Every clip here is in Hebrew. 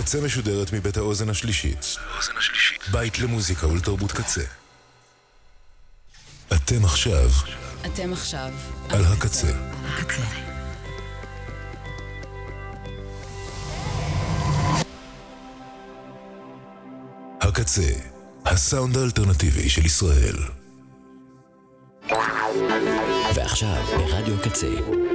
הקצה משודרת מבית האוזן השלישית. בית למוזיקה ולתרבות קצה. אתם עכשיו על הקצה. הקצה, הסאונד האלטרנטיבי של ישראל. ועכשיו ברדיו הקצה.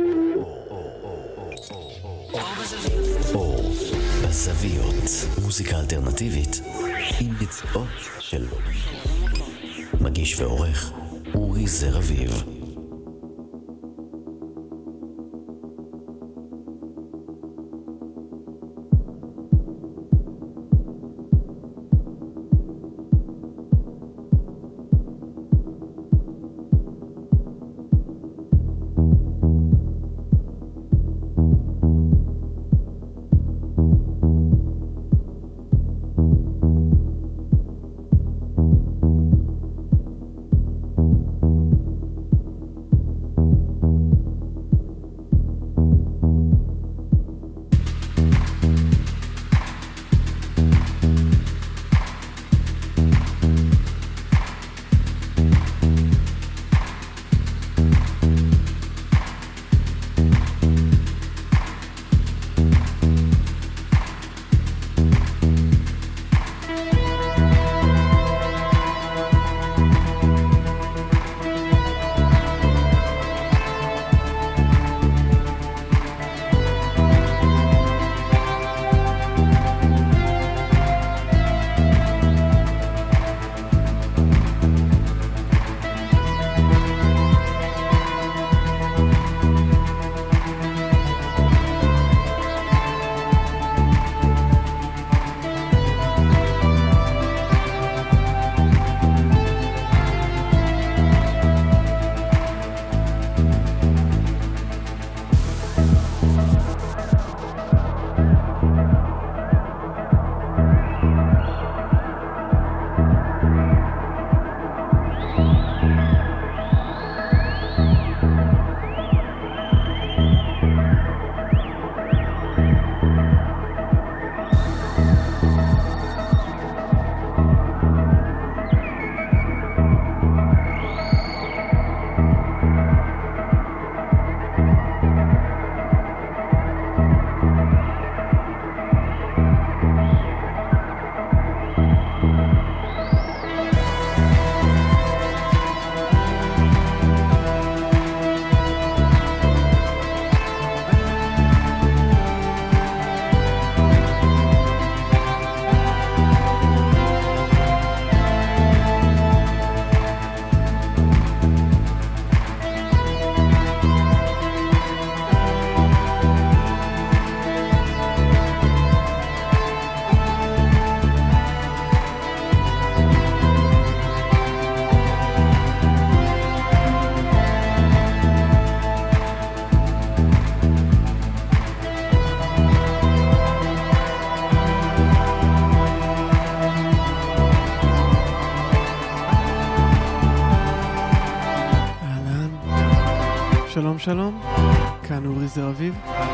אור בזוויות, מוזיקה אלטרנטיבית עם ביצועות של מגיש ועורך אורי זר אביב. שלום, כאן אורי זר אביב.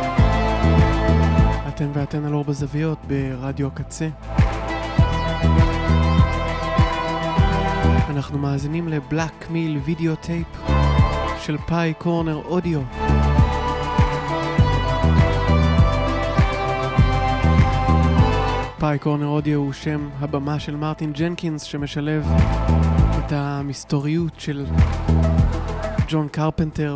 אתם ואתן על אור בזוויות ברדיו הקצה. אנחנו מאזינים לבלק מיל וידאו טייפ של פאי קורנר אודיו. פאי קורנר אודיו הוא שם הבמה של מרטין ג'נקינס, שמשלב את המסתוריות של ג'ון קרפנטר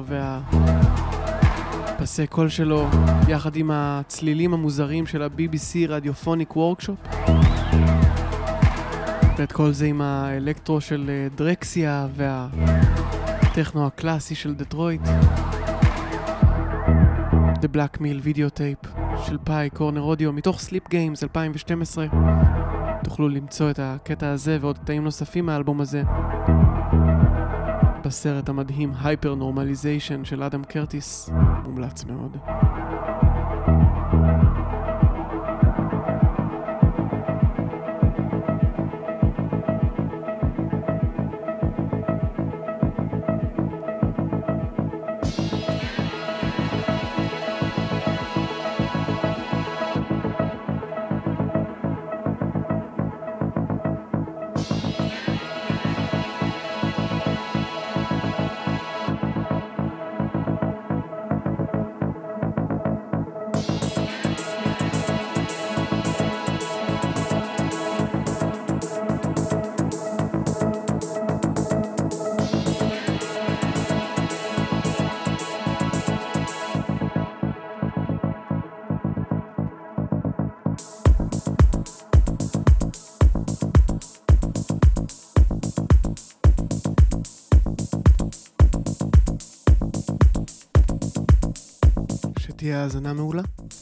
והפסי קול שלו יחד עם הצלילים המוזרים של ה-BBC רדיופוניק וורקשופ, ואת כל זה עם האלקטרו של דרקסיה והטכנו הקלאסי של דטרויט. The Black Mill Video Tape של פאי קורנר אודיו מתוך סליפ גיימס 2012. תוכלו למצוא את הקטע הזה ועוד קטעים נוספים מהאלבום הזה בסרט המדהים הייפר נורמליזיישן של אדם קרטיס. מומלץ מאוד. שתהיה האזנה מעולה.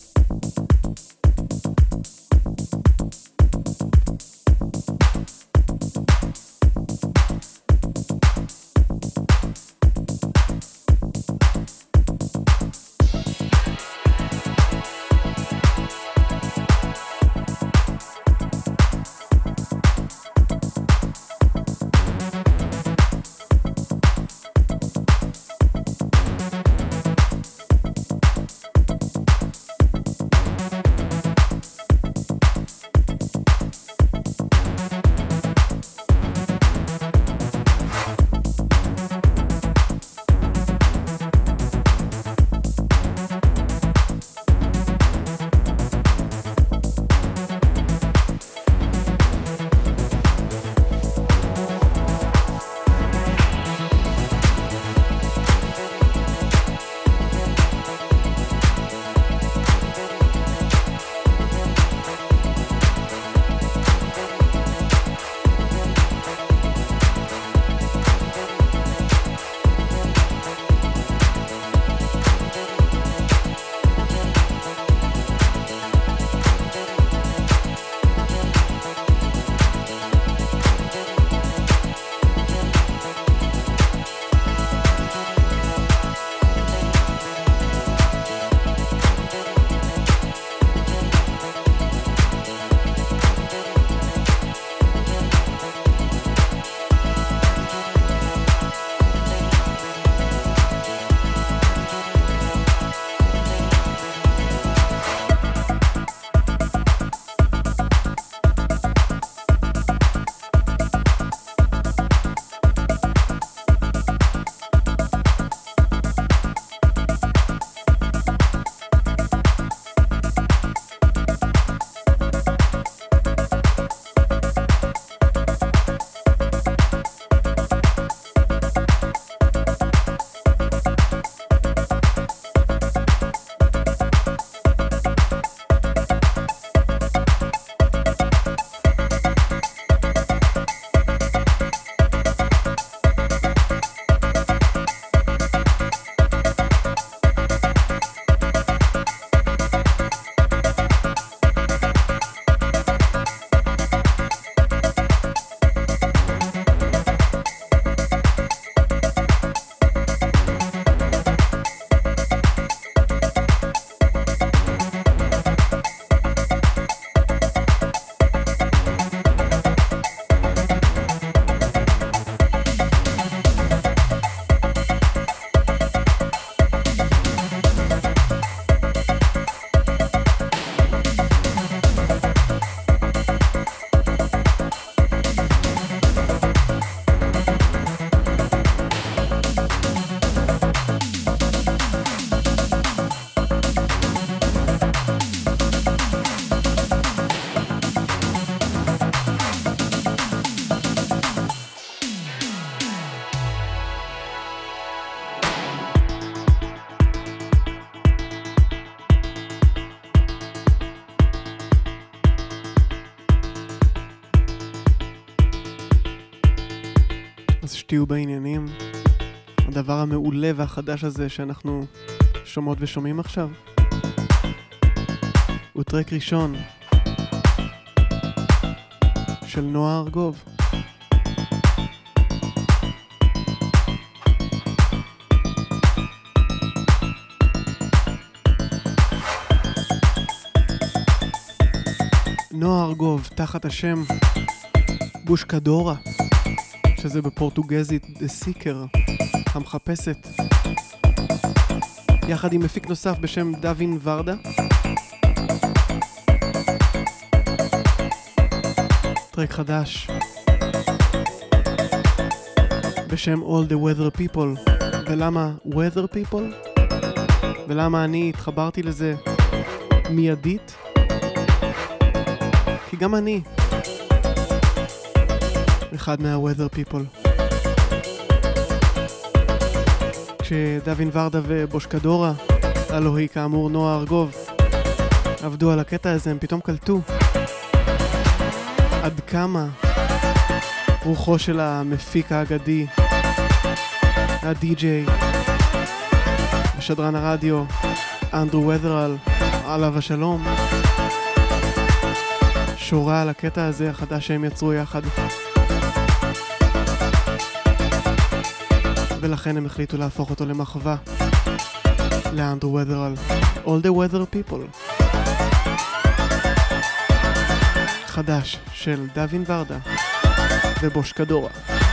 אז שתהיו בעניינים. הדבר המעולה והחדש הזה שאנחנו שומעות ושומעים עכשיו הוא טרק ראשון של נועה ארגוב. נועה ארגוב תחת השם בושקדורה, שזה בפורטוגזית The Seeker, המחפשת, יחד עם מפיק נוסף בשם דווין ורדה. טרק חדש בשם All the Weather People. ולמה Weather People? ולמה אני התחברתי לזה מיידית? כי גם אני אחד מה-Weather People. כשדווין ורדה ובושקדורה, הלו היא כאמור נועה ארגוב, עבדו על הקטע הזה, הם פתאום קלטו עד כמה רוחו של המפיק האגדי, הדי-ג'יי ושדרן הרדיו אנדרו ות'רל, עליו השלום, שורה על הקטע הזה החדש שהם יצרו יחד. ולכן הם החליטו להפוך אותו למחווה לאנדרו ות'רל, All the Weather People. חדש של דווין ורדה ובוש קדורה.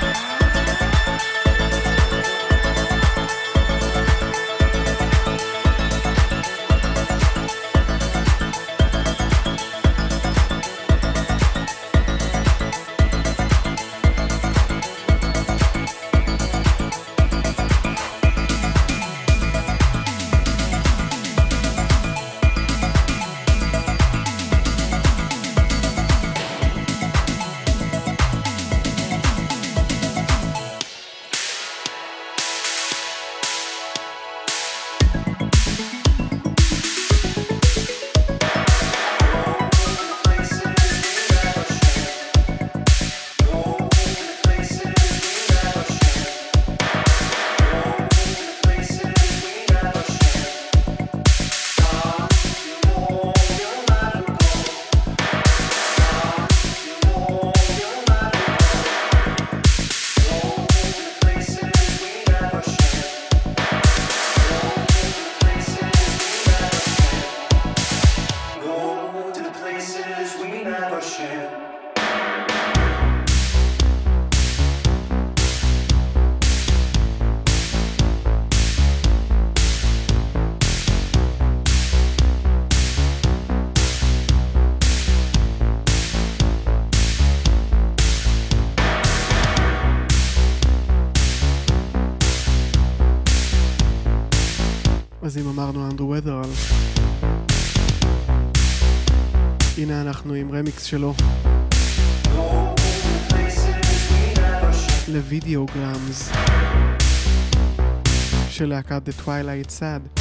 אז אם אמרנו אנדרו ות'רל, הנה אנחנו עם רמיקס שלו לוידאוגרמס של להקת The Twilight Sad.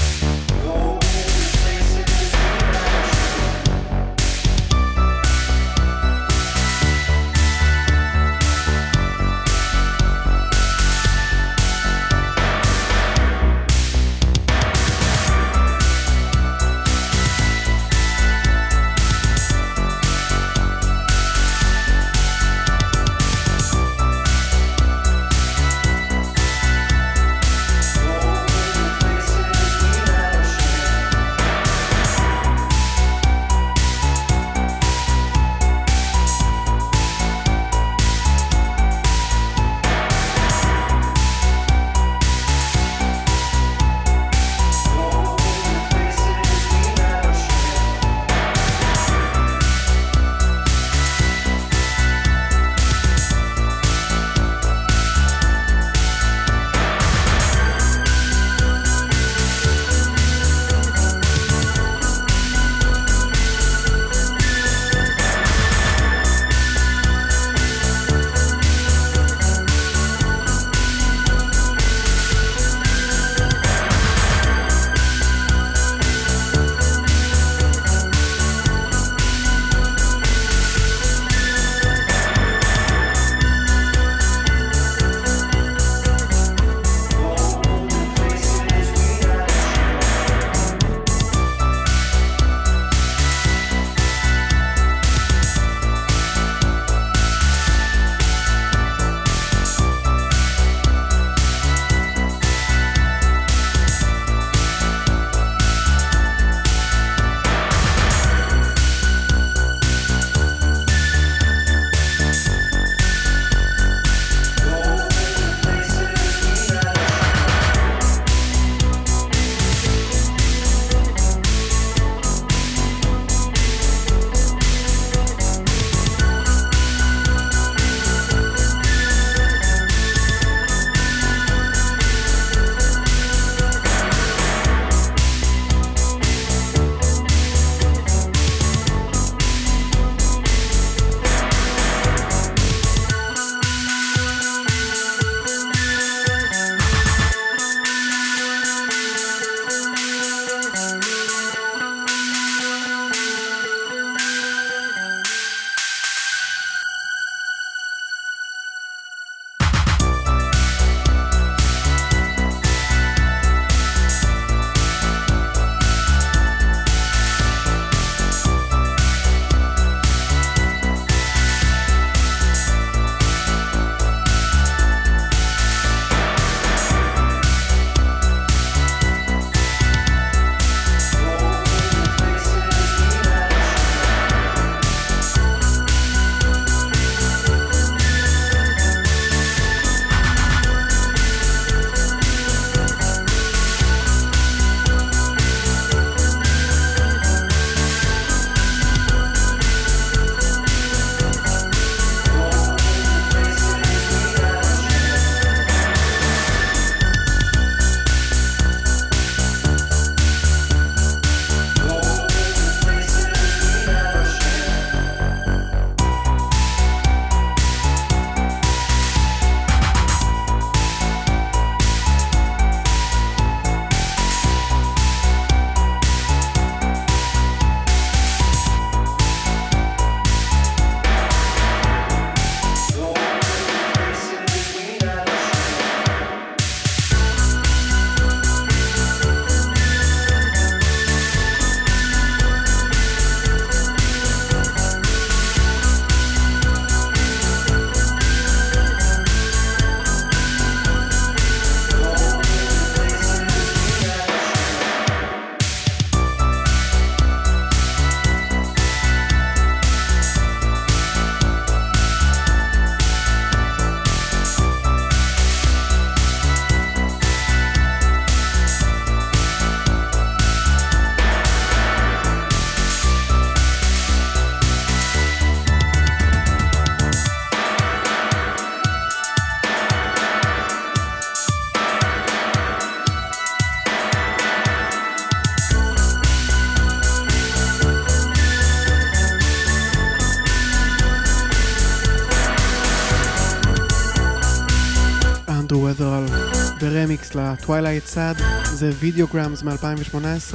ברמיקס לטווילייט סאד, זה וידאוגרמס מ-2018.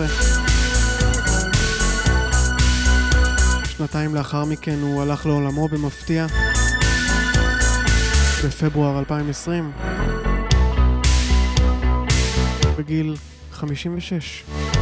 שנתיים לאחר מכן הוא הלך לעולמו במפתיע, בפברואר 2020, בגיל 56.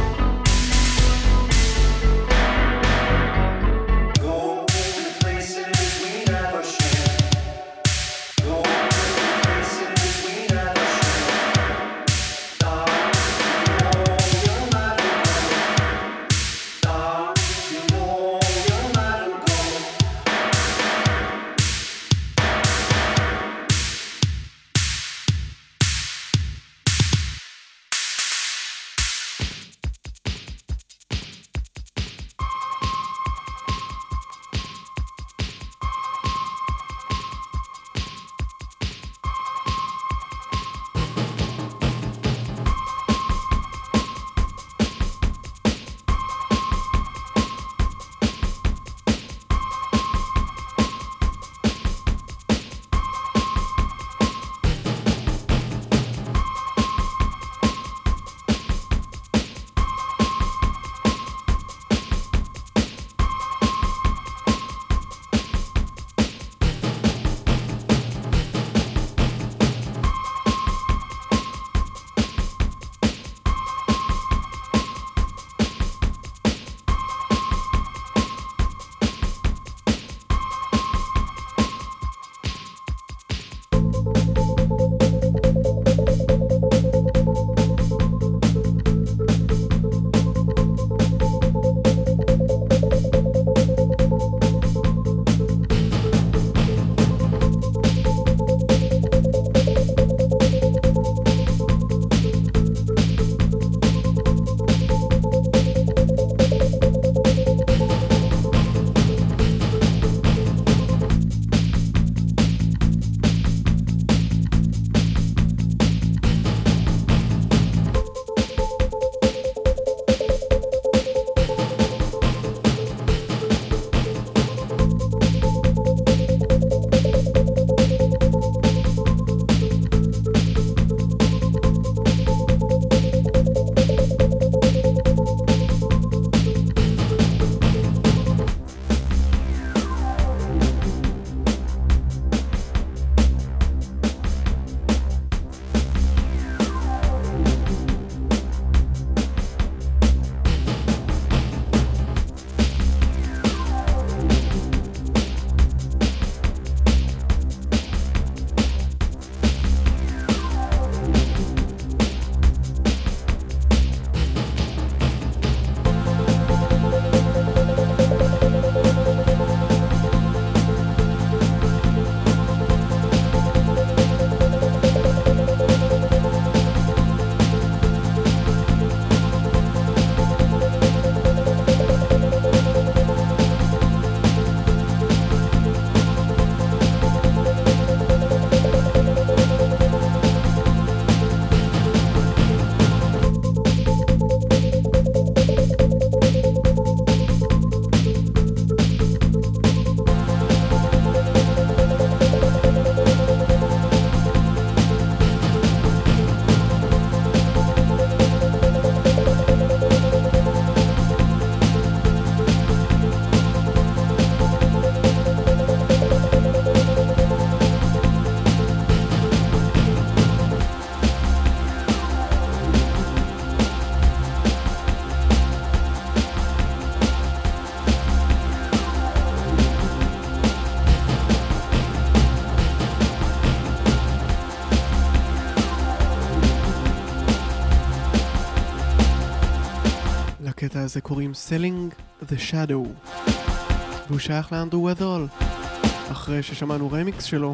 לקטע הזה קוראים Selling the Shadow, והוא שייך לאנדרו ות'רול, אחרי ששמענו רמיקס שלו,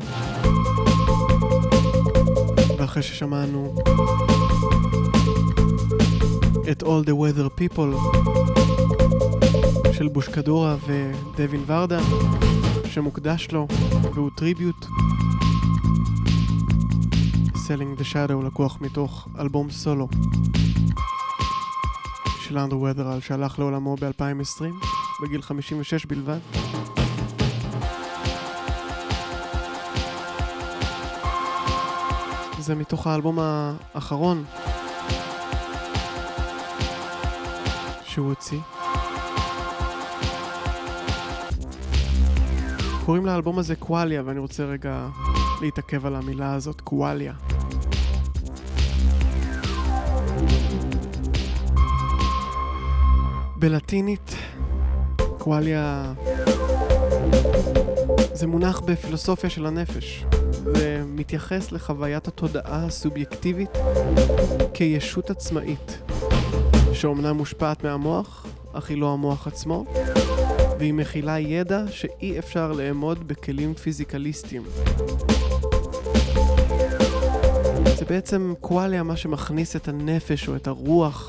ואחרי ששמענו את All the Weather People של בושקדורה ודווין ורדה, שמוקדש לו, והוא טריביוט. Selling the Shadow לקוח מתוך אלבום סולו של אנדרו ות'רול, שהלך לעולמו ב-2020 בגיל 56 בלבד. זה מתוך האלבום האחרון שהוא הוציא. קוראים לאלבום הזה קואליה, ואני רוצה רגע להתעכב על המילה הזאת, קואליה. בלטינית, קואליה זה מונח בפילוסופיה של הנפש, ומתייחס לחוויית התודעה הסובייקטיבית כישות עצמאית, שאומנם מושפעת מהמוח, אך היא לא המוח עצמו, והיא מכילה ידע שאי אפשר לאמוד בכלים פיזיקליסטיים. זה בעצם קואליה מה שמכניס את הנפש או את הרוח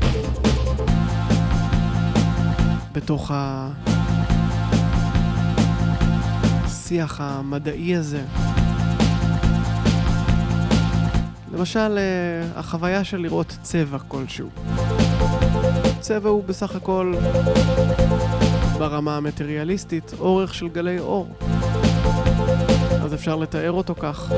בתוך השיח המדעי הזה. למשל, החוויה של לראות צבע כלשהו. צבע הוא בסך הכל, ברמה המטריאליסטית, אורך של גלי אור. אז אפשר לתאר אותו כך.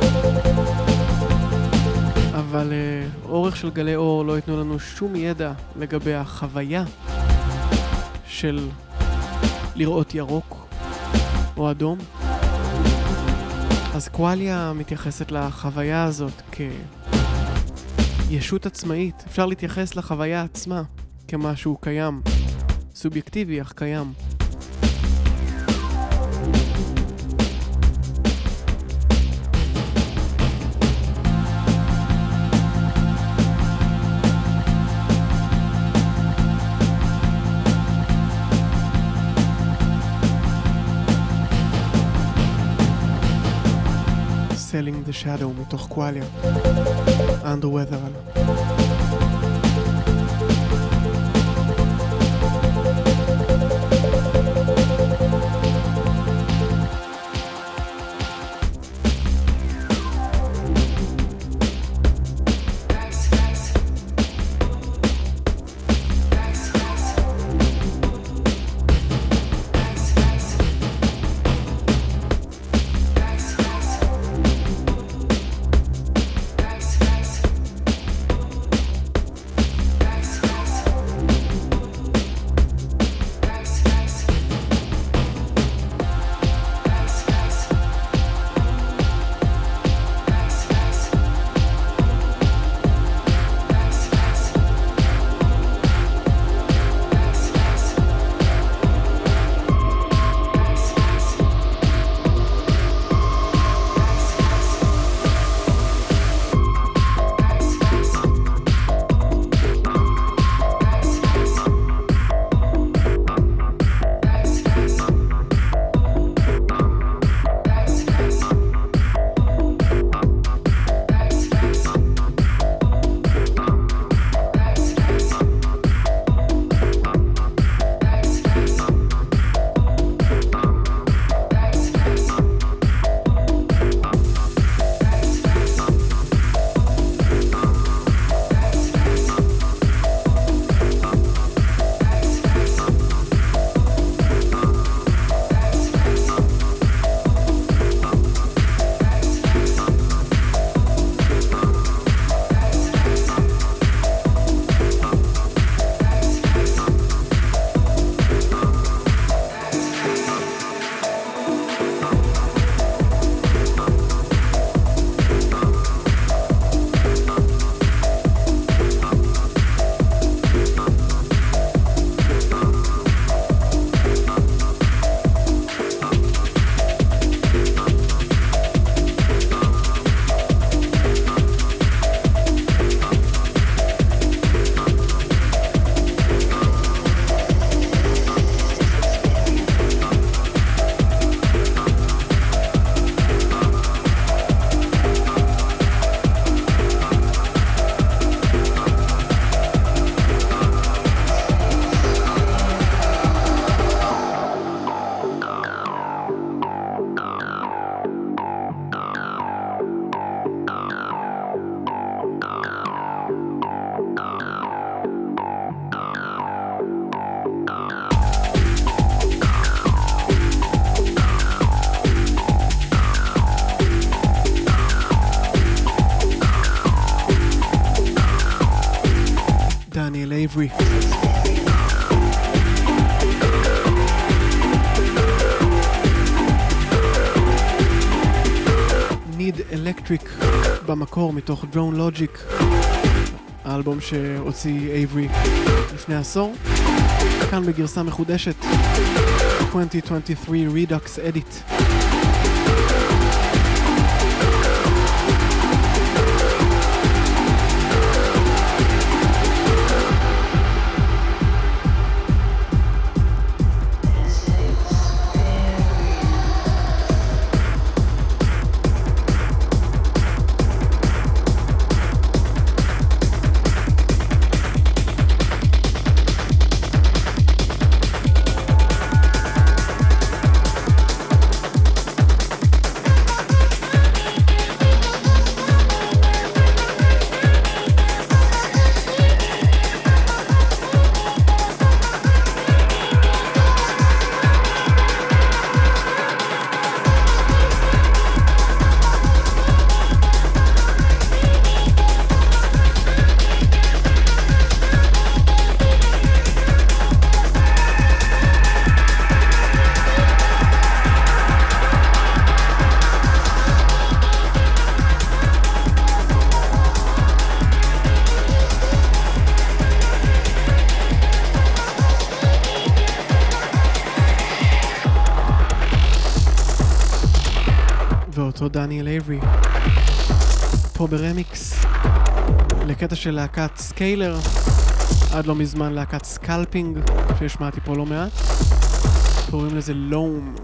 אבל אורך של גלי אור לא ייתנו לנו שום ידע לגבי החוויה של לראות ירוק או אדום. אז קואליה מתייחסת לחוויה הזאת כישות עצמאית. אפשר להתייחס לחוויה עצמה כמשהו קיים, סובייקטיבי אך קיים. Selling the Shadow מתוך קואליה. Under Weather. Avery. Need Electric במקור מתוך Drone Logic, האלבום שהוציא Avery לפני עשור, כאן בגרסה מחודשת 2023 Redux Edit. ואותו דניאל אייברי פה ברמיקס לקטע של להקת סקיילר, עד לא מזמן להקת סקלפינג שהשמעתי פה לא מעט, קוראים לזה לום.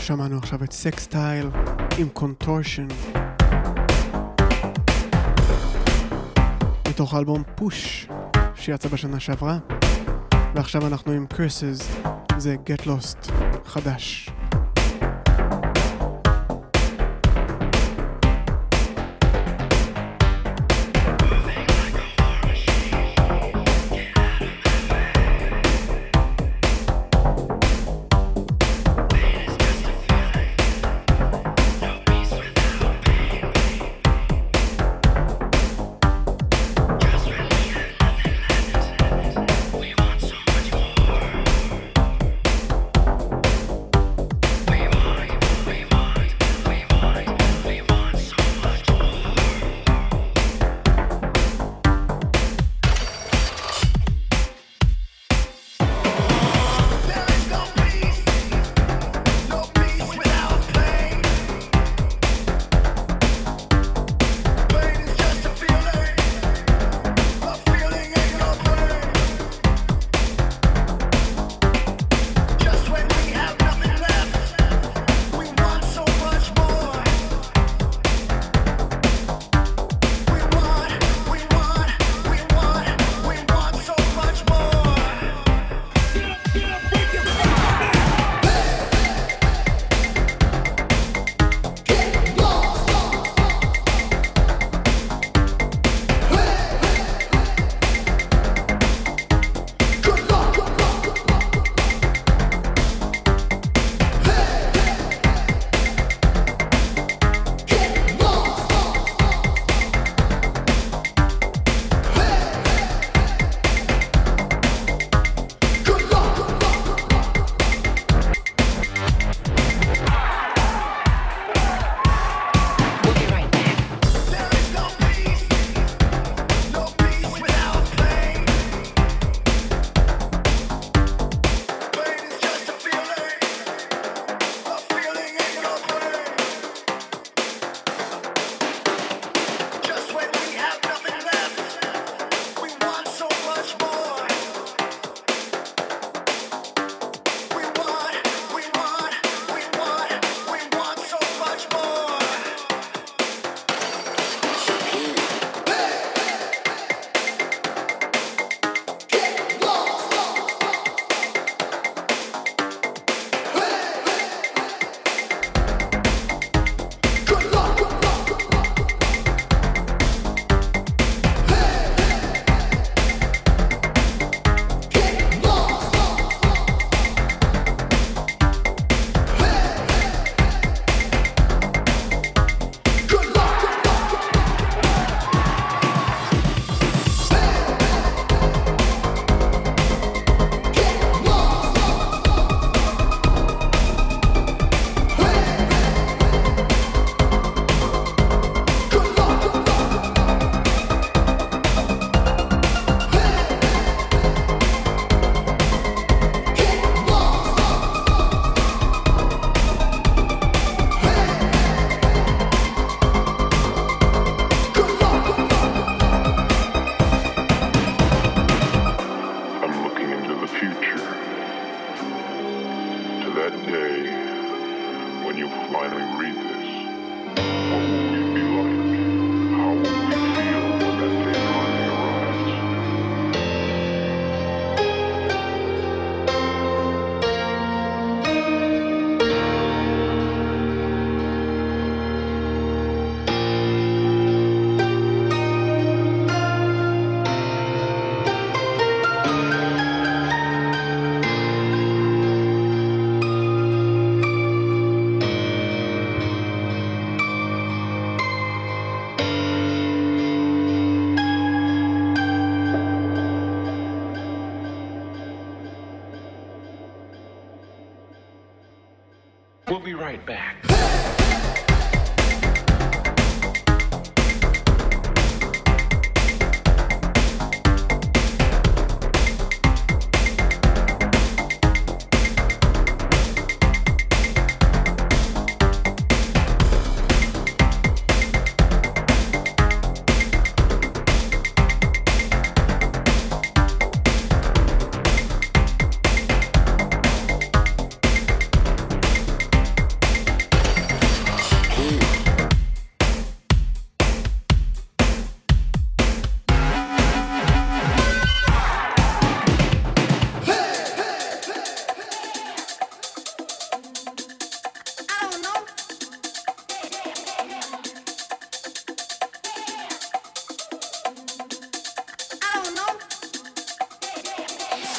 שמענו עכשיו את סקסטייל עם קונטורשן מתוך האלבום פוש שיצא בשנה שעברה, ועכשיו אנחנו עם Curses, זה Get Lost חדש. We'll be right back.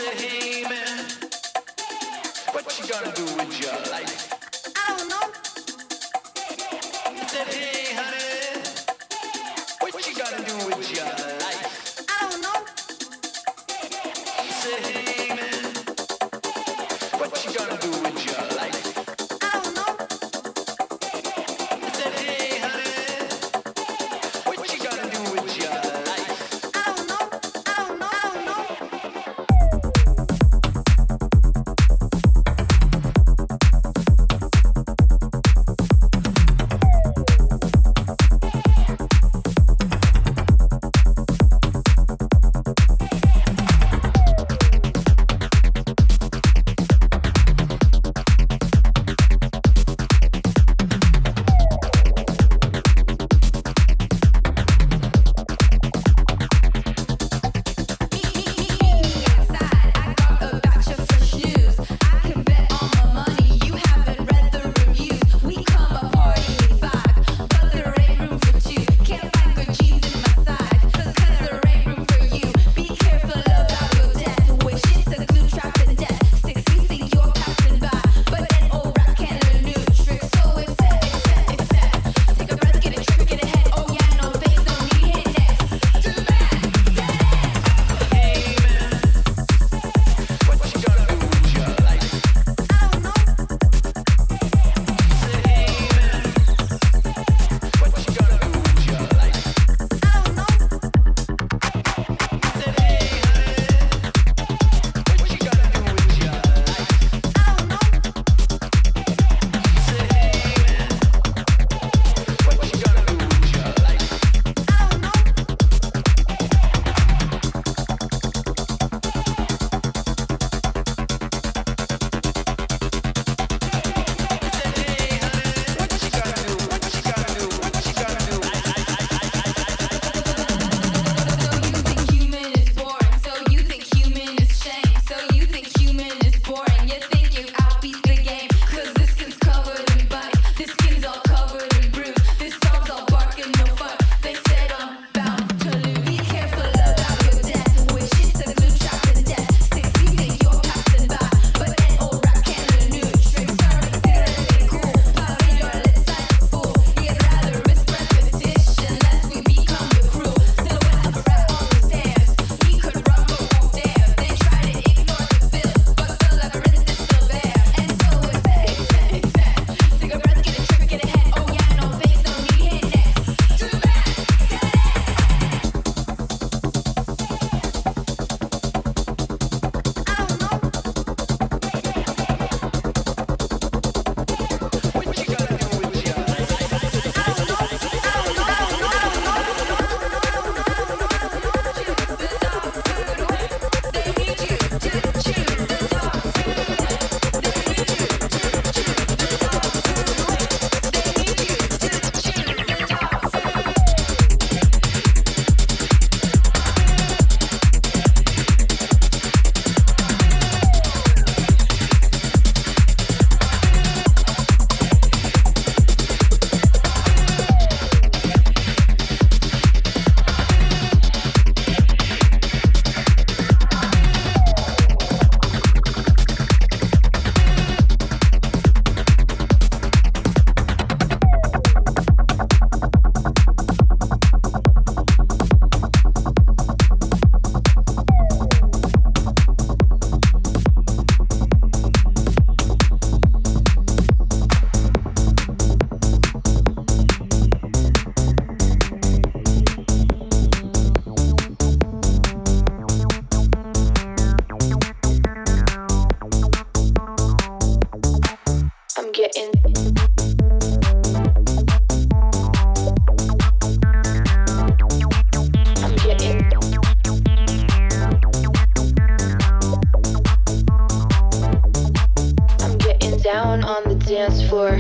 dance floor.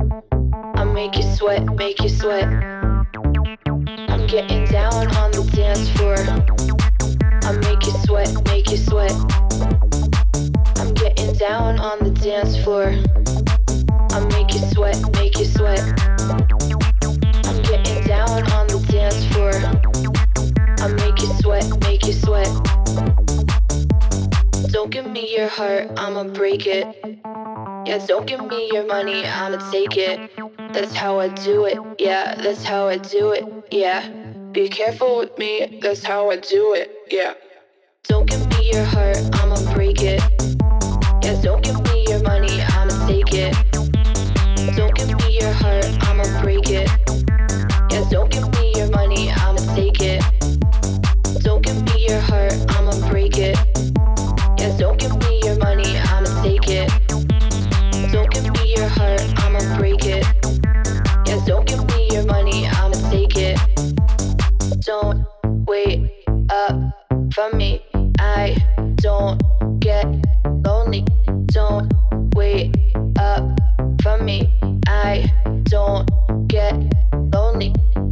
I make you sweat, make you sweat. I'm getting down on the dance floor. I make you sweat, make you sweat. I'm getting down on the dance floor. I make you sweat, make you sweat. I'm getting down on the dance floor. I make you sweat, make you sweat. Don't give me your heart, I'ma break it. Yeah, don't give me your money, I'ma take it. That's how I do it, yeah, that's how I do it, yeah. Be careful with me, that's how I do it, yeah. Don't give me your heart, I'ma break it. Yeah, don't give me your money, I'ma take it. Don't give me your heart, I'ma break it. Yeah, don't give me your money, I'ma take it. Don't give me your heart, I'ma break it. Yeah, don't give me your money, I'ma take it. Don't give me your heart, I'ma break it. Yeah, don't give me your money, I'ma take it. Don't wait up for me, I don't get lonely. Don't wait up for me, I don't get lonely.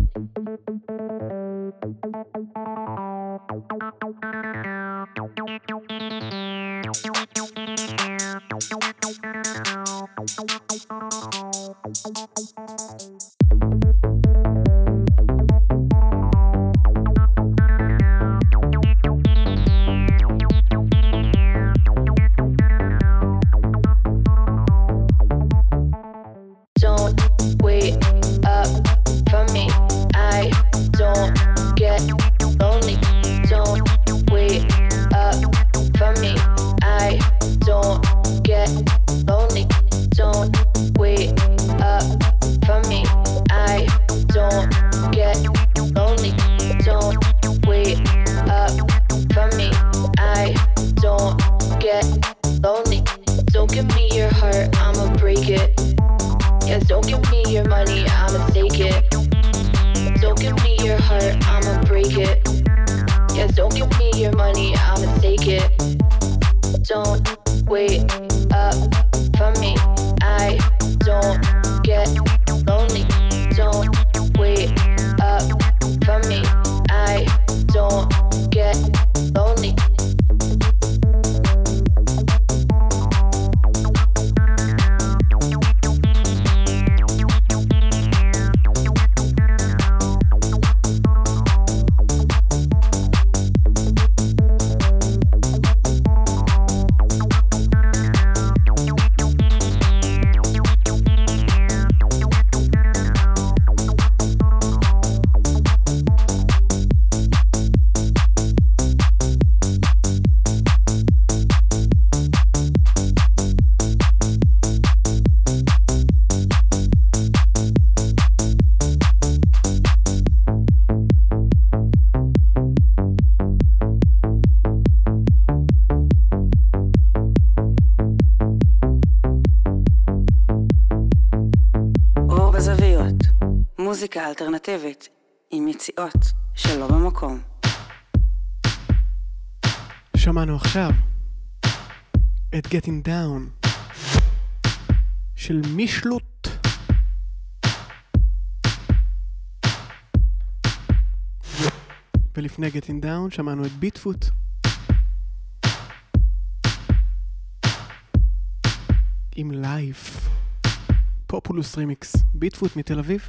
Don't wait up for me, I don't get lonely. Don't wait up for me, I don't get lonely. Don't wait up for me, I don't get lonely. Don't wait up for me, I don't get lonely. Don't give me your heart, I'ma break it. Yeah, don't give me your money, I'ma take it. Don't give me your heart, I'ma break it. Yeah, don't give me your money, I'ma take it. Don't wait up for me, I don't get lonely. Don't wait up for me, I don't get lonely. מוזיקה אלטרנטיבית עם יציאות שלא במקום. שמענו עכשיו את Getting Down של מישלוט. ולפני Getting Down שמענו את ביטפוט עם לייף. פופולוס רימיקס. ביטפוט מתל אביב.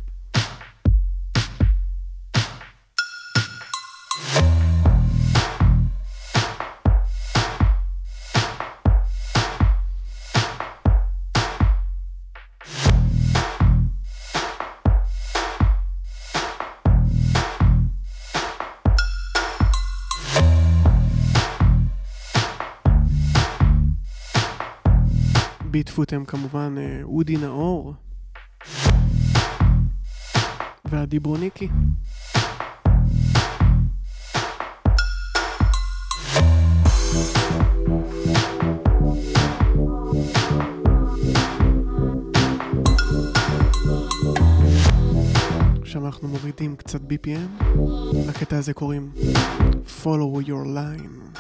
ביטפוט הם כמובן אודי נאור ועדי ברוניקי. עכשיו אנחנו מורידים קצת BPM. לקטע הזה קוראים Follow Your Line.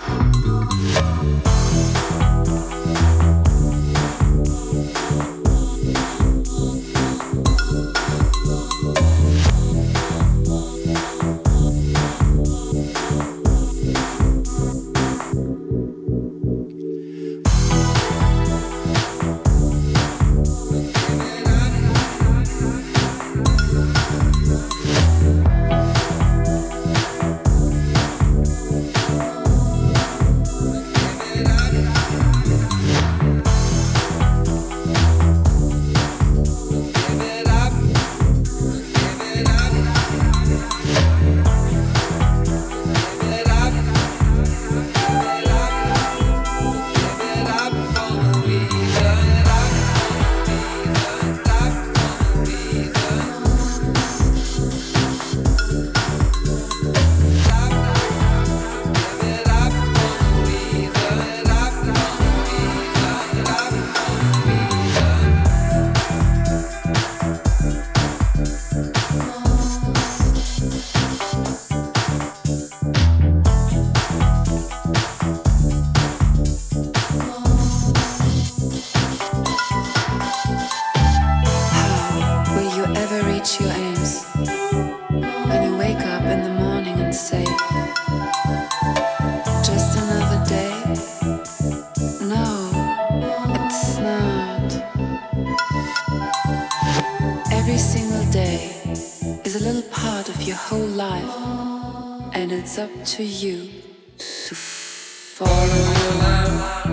Every single day is a little part of your whole life, and it's up to you to follow your life.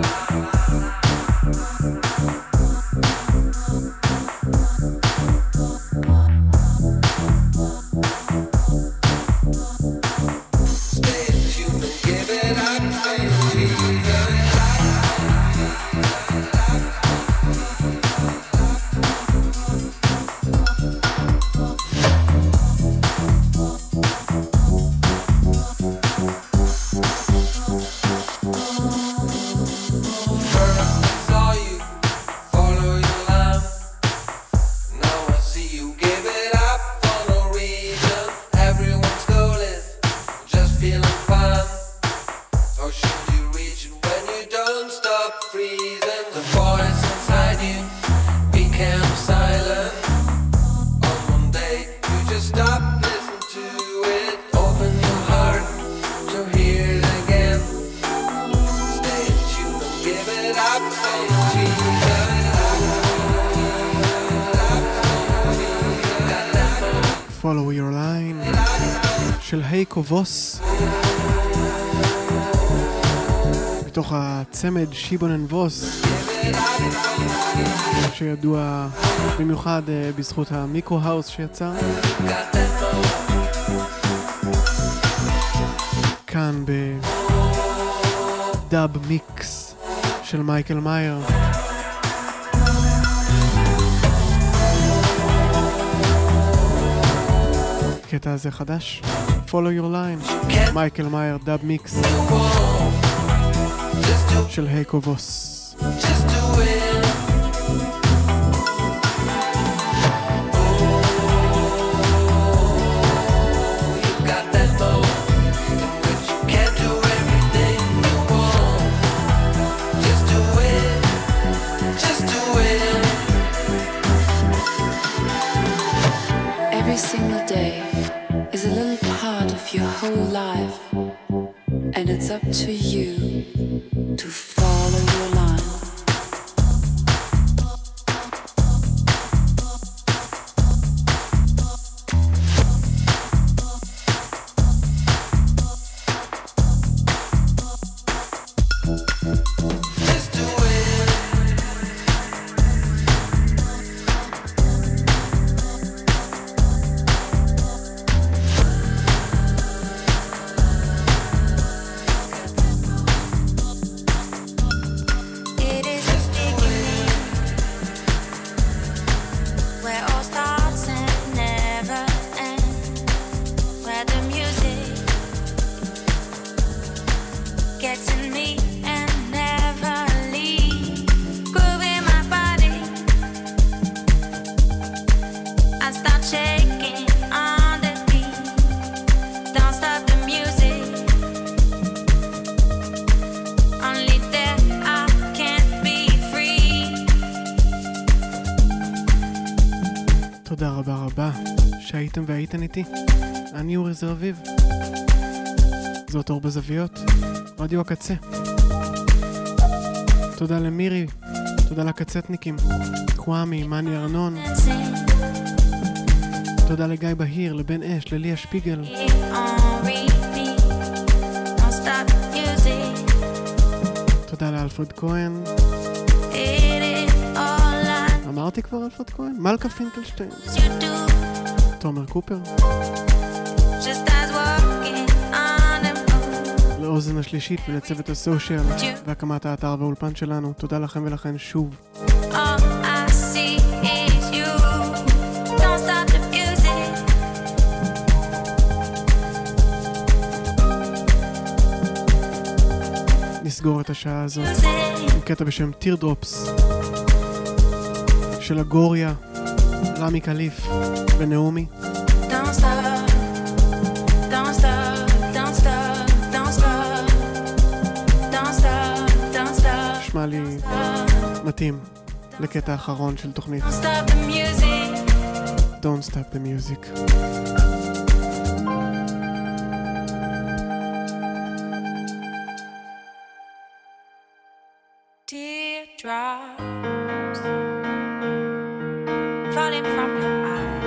Follow Your Line של הייקו ווס מתוך הצמד שיבונן ווס שידוע במיוחד בזכות המיקרו-האוס שיצא כאן בדאב מיקס של מייקל מאייר. הקטע הזה חדש, Follow Your Line, מייקל מאייר, דאב מיקס של הייקו ווס. Every single day is a little part of your whole life, and it's up to you to follow your line. תודה רבה רבה שהייתם והייתן איתי. אני אורי זר אביב, זאת אור בזוויות, רדיו הקצה. תודה למירי, תודה לקצטניקים, קוואמי, מני ארנון, תודה לגיא בהיר, לבן אש, לליה שפיגל, תודה לאלפרד כהן, אמרתי כבר אלפרד כהן, מלכה פינקלשטיין, תומר קופר, לאוזן השלישית ולצוות הסושיאל והקמת האתר והאולפן שלנו. תודה לכם ולכן שוב. נסגור את השעה הזאת עם קטע בשם Teardrops של הגוריה, רמי קליף ונעמי. נשמע לי מתאים לקטע האחרון של תוכנית Don't Stop the Music. Teardrops falling from your eyes.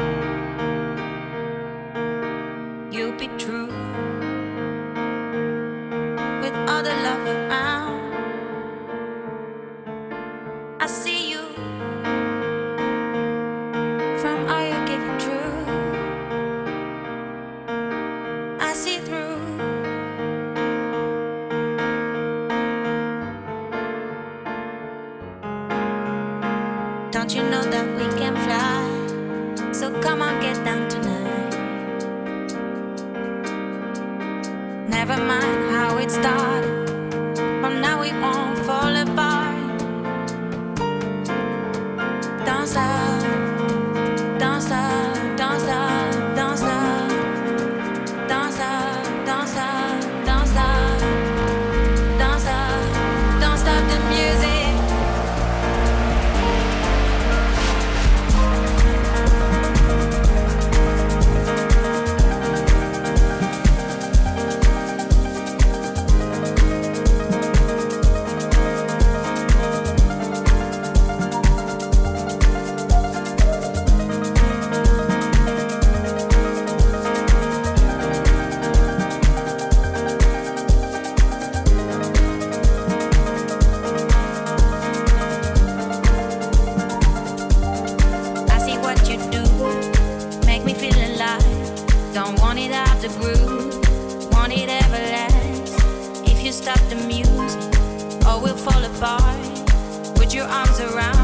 Don't you know that we can fly? So come on, get down tonight. Never mind how it started. From now we won't fall apart. Don't stop, don't stop, don't stop, don't stop, don't stop, don't stop, don't stop, don't stop, don't stop the music. Stop the music or we'll fall apart. Put your arms around